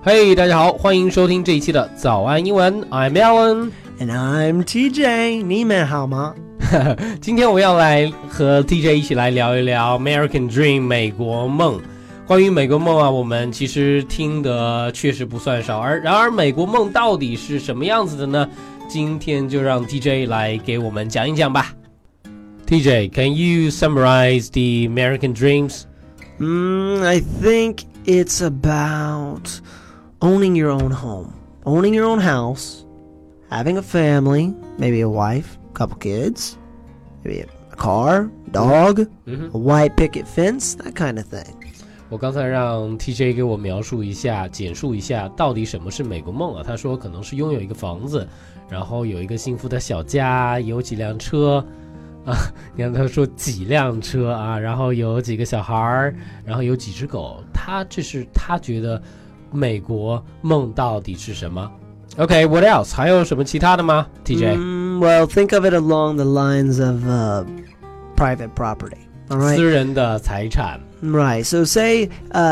嘿，大家好，欢迎收听这一期的早安英文 I'm Alan And I'm TJ 你们好吗？ 今天我要来和 TJ 一起来聊一聊 American Dream 美国梦。关于美国梦啊，我们其实听的确实不算少，然而美国梦到底是什么样子的呢？今天就让 TJ 来给我们讲一讲吧。TJ, can you summarize the American dreams? I think it's about owning your own home, owning your own house, having a family, maybe a wife, a couple kids, maybe a car, dog, a white picket fence, that kind of thing. 我刚才让 TJ 给我描述一下简述一下到底什么是美国梦啊。他说可能是拥有一个房子，然后有一个幸福的小家，有几辆车啊，你看他说几辆车啊，然后有几个小孩，然后有几只狗。这是他觉得美国梦到底是什么。 OK, what else? 还有什么其他的吗 TJ? Well, think of it along the lines of private property. All right? 私人的财产。 Right. So say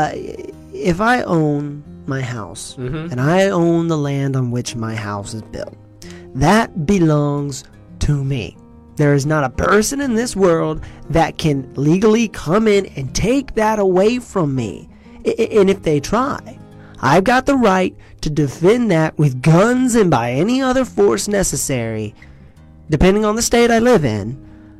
if I own my house and I own the land on which my house is built, that belongs to me. There is not a person in this world that can legally come in and take that away from me. And if they try, I've got the right to defend that with guns and by any other force necessary, depending on the state I live in,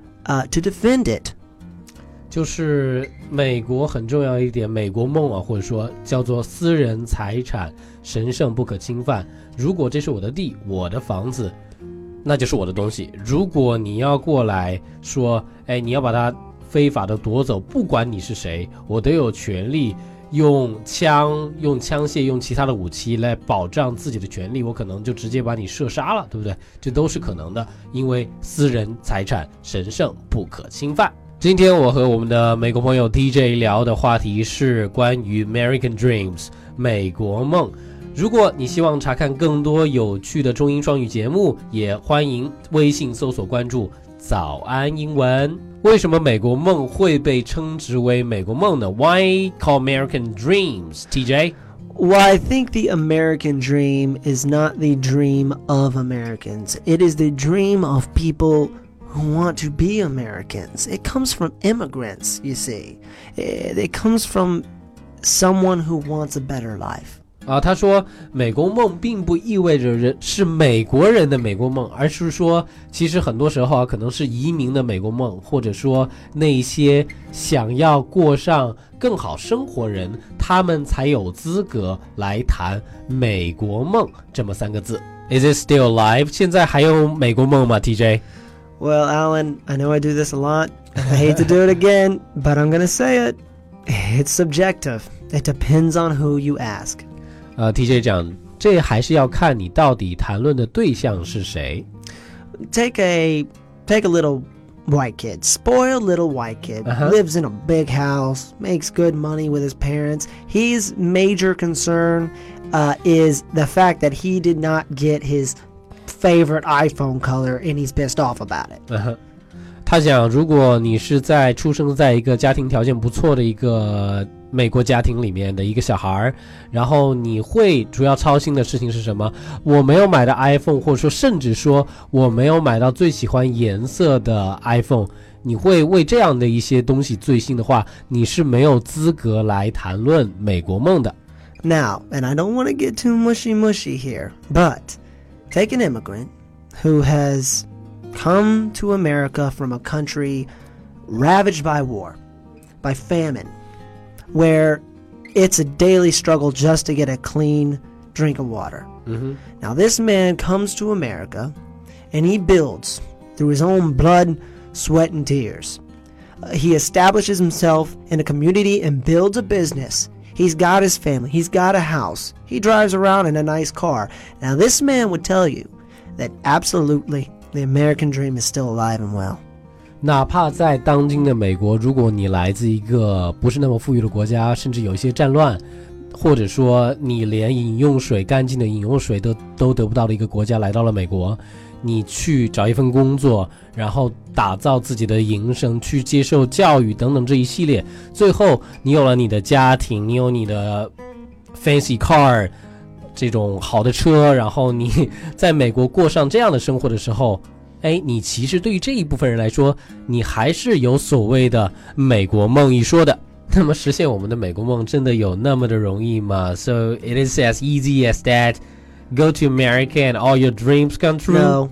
to defend it. 就是美国很重要一点，美国梦啊，或者说叫做私人财产神圣不可侵犯。如果这是我的地，我的房子，那就是我的东西。如果你要过来说，你要把它非法的夺走，不管你是谁，我都有权利用枪械用其他的武器来保障自己的权利，我可能就直接把你射杀了，对不对？这都是可能的，因为私人财产神圣不可侵犯。今天我和我们的美国朋友 TJ 聊的话题是关于 American Dreams 美国梦。如果你希望查看更多有趣的中英双语节目，也欢迎微信搜索关注早安英文。为什么美国梦会被称之为美国梦呢？ Why call American Dreams, TJ? Well, I think the American dream is not the dream of Americans. It is the dream of people who want to be Americans. It comes from immigrants, you see. It comes from someone who wants a better life. 他说美国梦并不意味着是美国人的美国梦，而是说其实很多时候可能是移民的美国梦，或者说那些想要过上更好生活人，他们才有资格来谈美国梦这么三个字。 Is it still alive? 现在还有美国梦吗 TJ? Well, Alan, I know I do this a lot. I hate to do it again, but I'm going to say it. It's subjective. It depends on who you ask. TJ 讲，这还是要看你到底谈论的对象是谁。 Take a little white kid, spoiled little white kid, lives in a big house, makes good money with his parents. His major concern is the fact that he did not get his favorite iPhone color and he's pissed off about it. 他讲，如果你是出生在一个家庭条件不错的一个美国家庭里面的一个小孩，然后你会主要操心的事情是什么？我没有买的 iPhone， 或者说甚至说我没有买到最喜欢颜色的 iPhone， 你会为这样的一些东西最心的话，你是没有资格来谈论美国梦的。 Now, and I don't want to get too mushy here, but take an immigrant who has come to America from a country ravaged by war, by famine, where it's a daily struggle just to get a clean drink of water. Now this man comes to America and he builds through his own blood, sweat, and tears. He establishes himself in a community and builds a business. He's got his family. He's got a house. He drives around in a nice car. Now this man would tell you that absolutely the American dream is still alive and well. 哪怕在当今的美国，如果你来自一个不是那么富裕的国家，甚至有一些战乱，或者说你连干净的饮用水都得不到的一个国家来到了美国，你去找一份工作，然后打造自己的营生，去接受教育等等这一系列，最后你有了你的家庭，你有你的 fancy car 这种好的车，然后你在美国过上这样的生活的时候，你其实对于这一部分人来说，你还是有所谓的美国梦一说的。那么实现我们的美国梦真的有那么的容易吗？ So it is as easy as that. Go to America and all your dreams come true?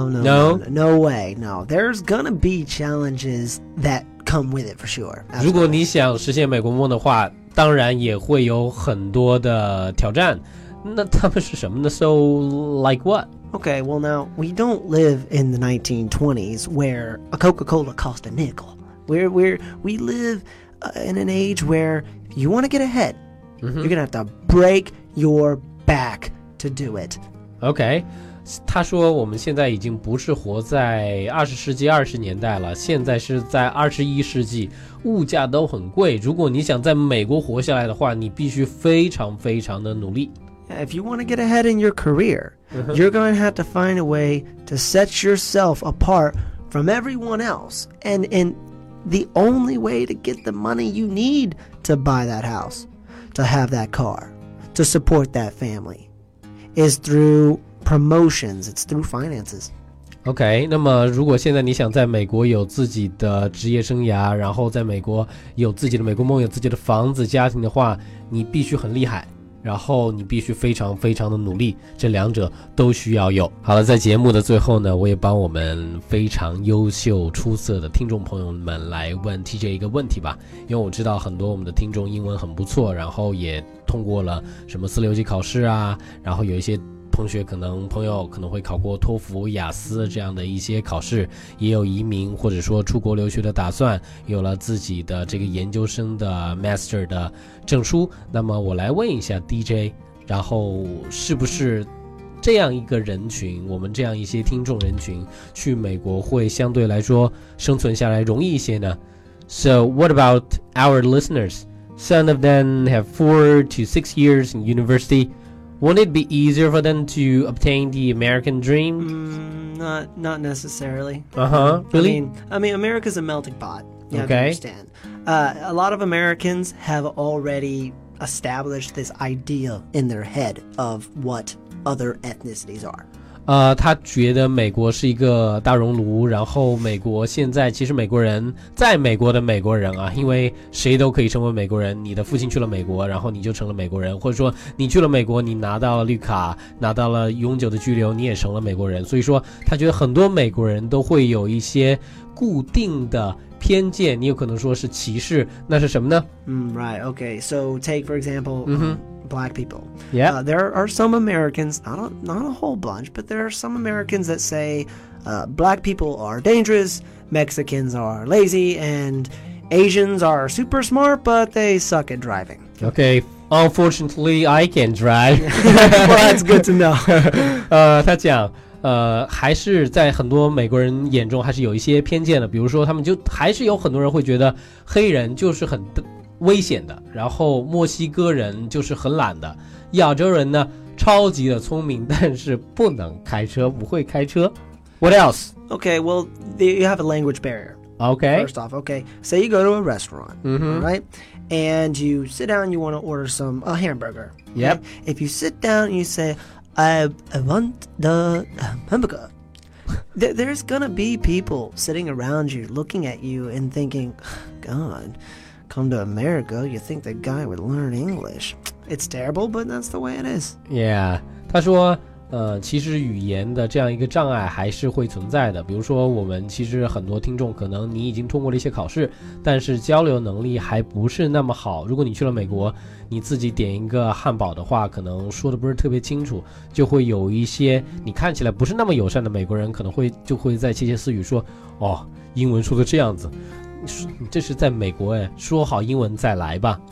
No way. No. There's gonna be challenges that come with it for sure. 如果你想实现美国梦的话，当然也会有很多的挑战。那他们是什么呢？ So like what? Okay, well now, we don't live in the 1920s where a Coca-Cola cost a nickel. We live in an age where if you want to get ahead, you're gonna have to break your back to do it. OK, 他说我们现在已经不是活在20世纪20年代了，现在是在21世纪，物价都很贵。如果你想在美国活下来的话，你必须非常非常的努力。 If you want to get ahead in your career, you're going to have to find a way to set yourself apart from everyone else. And the only way to get the money you need to buy that house, to have that car, to support that family, is through promotions. It's through finances. OK, 那么如果现在你想在美国有自己的职业生涯，然后在美国有自己的美国梦，有自己的房子家庭的话，你必须很厉害，然后你必须非常非常的努力，这两者都需要有。好了，在节目的最后呢，我也帮我们非常优秀出色的听众朋友们来问 TJ 一个问题吧。因为我知道很多我们的听众英文很不错，然后也通过了什么4六级考试啊，然后有一些朋友可能会考过托福、雅思这样的一些考试，也有移民或者说出国留学的打算，有了自己的这个研究生的 Master 的证书。那么我来问一下 DJ， 然后是不是这样一个人群，我们这样一些听众人群去美国会相对来说生存下来容易一些呢？ So what about our listeners? Some of them have 4 to 6 years in university.Won't it be easier for them to obtain the American dream? Not necessarily. Really? I mean, America's a melting pot. You have to Okay. understand. A lot of Americans have already established this idea in their head of what other ethnicities are. 他觉得美国是一个大熔炉，然后美国现在其实美国人在美国的美国人啊，因为谁都可以成为美国人，你的父亲去了美国，然后你就成了美国人，或者说你去了美国，你拿到了绿卡，拿到了永久的居留，你也成了美国人。所以说他觉得很多美国人都会有一些固定的偏见，你有可能说是歧视，那是什么呢？ Right, okay. So take, for example, black people. Yeah. There are some Americans, not a whole bunch, but there are some Americans that say black people are dangerous, Mexicans are lazy, and Asians are super smart, but they suck at driving. Okay, unfortunately, I can drive. Well, that's good to know. 他讲还是在很多美国人眼中还是有一些偏见的，比如说他们就还是有很多人会觉得黑人就是很危险的，然后墨西哥人就是很懒的，亚洲人呢超级的聪明，但是不能开车，不会开车。What else? Okay, well, you have a language barrier. Okay. First off, okay, say you go to a restaurant, right? And you sit down, you want to order a hamburger. Yep. Right? If you sit down and you say, I want the hamburger, there's gonna be people sitting around you looking at you and thinking, God, come to America, you think the guy would learn English. It's terrible, but that's the way it is. Yeah. 他说其实语言的这样一个障碍还是会存在的，比如说我们其实很多听众可能你已经通过了一些考试，但是交流能力还不是那么好。如果你去了美国，你自己点一个汉堡的话，可能说的不是特别清楚，就会有一些你看起来不是那么友善的美国人可能就会在窃窃私语说，哦，英文说的这样子，这是在美国说好英文再来吧。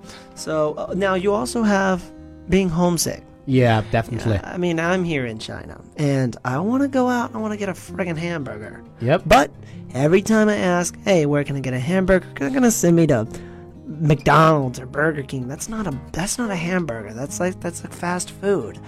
So now you also have being homesick.Yeah, definitely. I mean, I'm here in China, and I want to go out, I want to get a friggin' hamburger. Yep. But every time I ask, hey, where can I get a hamburger? They're going to send me to McDonald's or Burger King. That's not a hamburger. That's like fast food.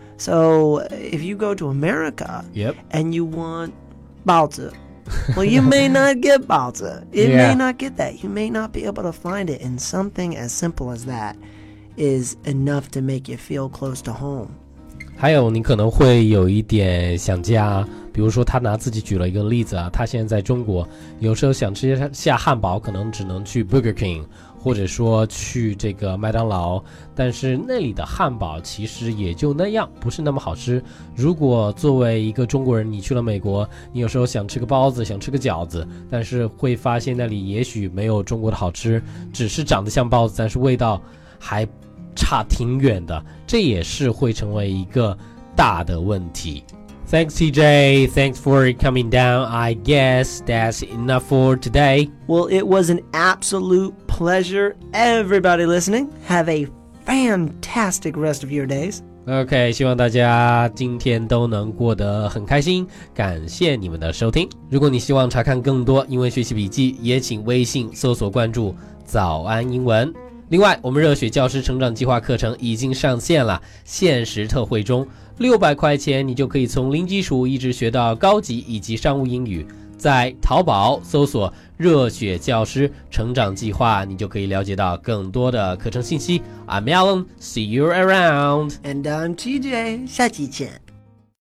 So if you go to America and you want 包子, well, you may not get 包子. It may not get that. You may not be able to find it in something as simple as that is enough to make you feel close to home. 还有你可能会有一点想家，比如说他拿自己举了一个例子啊，他现在在中国，有时候想吃下汉堡，可能只能去 Burger King， 或者说去这个麦当劳，但是那里的汉堡其实也就那样，不是那么好吃。如果作为一个中国人，你去了美国，你有时候想吃个包子，想吃个饺子，但是会发现那里也许没有中国的好吃，只是长得像包子，但是味道还差挺远的，这也是会成为一个大的问题。Thanks, TJ. Thanks for coming down. I guess that's enough for today. Well, it was an absolute pleasure. Everybody listening, have a fantastic rest of your days. OK， 希望大家今天都能过得很开心，感谢你们的收听。如果你希望查看更多英文学习笔记，也请微信搜索关注早安英文。另外，我们热血教师成长计划课程已经上线了，限时特惠中，600块钱你就可以从零基础一直学到高级以及商务英语。在淘宝搜索热血教师成长计划，你就可以了解到更多的课程信息。I'm Alan, see you around. And I'm TJ. 下期见。